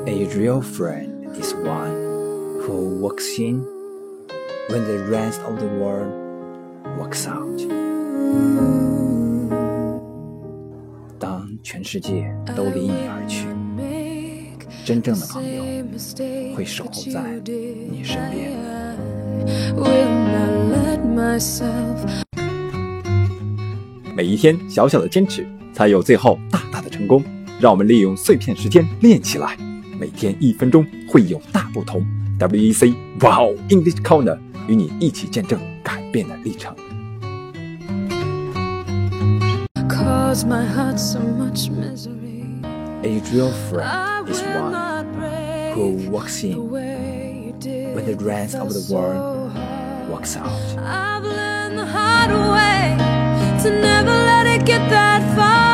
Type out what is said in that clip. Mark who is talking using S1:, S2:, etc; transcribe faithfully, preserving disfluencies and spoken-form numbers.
S1: A real friend is one who walks in when the rest of the world walks out. 当全世界都离你而去，真正的朋友会守候在你身边。
S2: 每一天小小的坚持，才有最后大大的成功。让我们利用碎片时间练起来，每天一分钟会有大不同。W E C Wow English Corner 与你一起见证改变的历程。
S1: A real friend is one who walks in when the rest of the world walks out.
S3: I've learned the hard way to never let it get that far.